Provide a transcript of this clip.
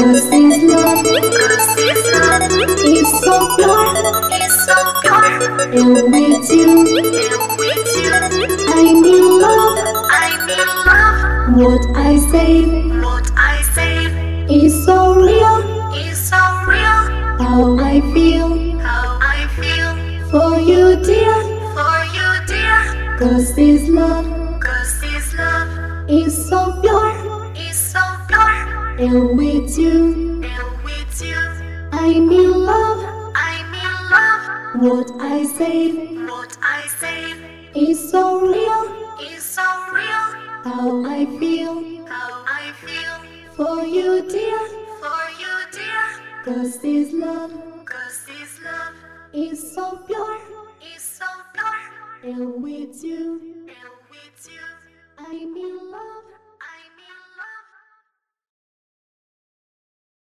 Cause this love is so pure, and with you, I'm in love. What I say is so real. How I feel for you, dear. Cause this love is so pure, and with you, I'm in love. What I say is so real. How I feel for you, dear. Cause this love is so pure, and with you, I'm in love.